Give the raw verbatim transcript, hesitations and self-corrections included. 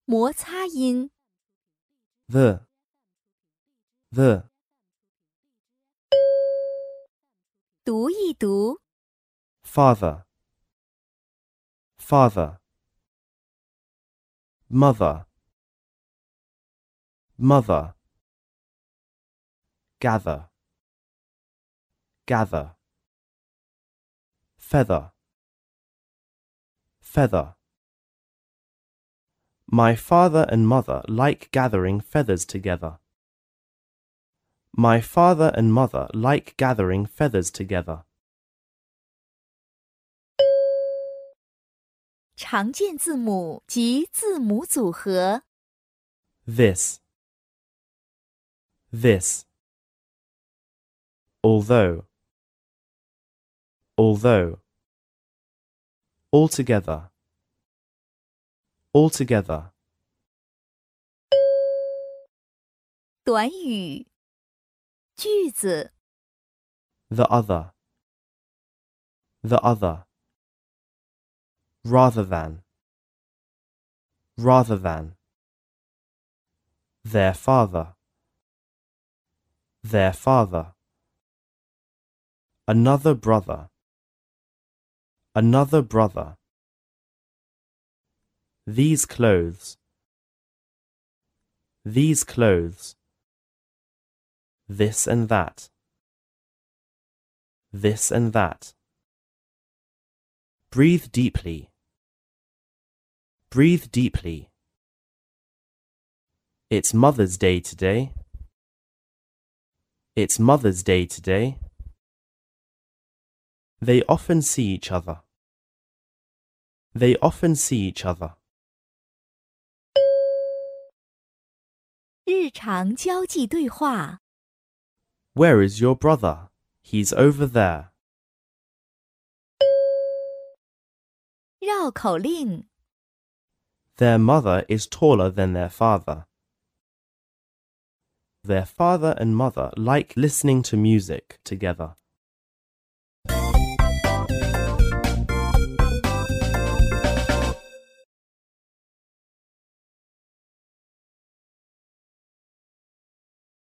摩擦音 the, the, 读一读， father, father, mother, mother, gather, gather, feather, feather. My father and mother like gathering feathers together. My father and mother like gathering feathers together. 常见字母及字母组合 This, this, although, although, altogether, altogether. 短语句子 The other, the other, rather than, rather than, their father, their father, another brother, another brother, these clothes, these clothes, this and that, this and that. Breathe deeply, breathe deeply. It's Mother's Day today. It's Mother's Day today. They often see each other. They often see each other. 日常交际对话 Where is your brother? He's over there. 绕口令 Their mother is taller than their father. Their father and mother like listening to music together.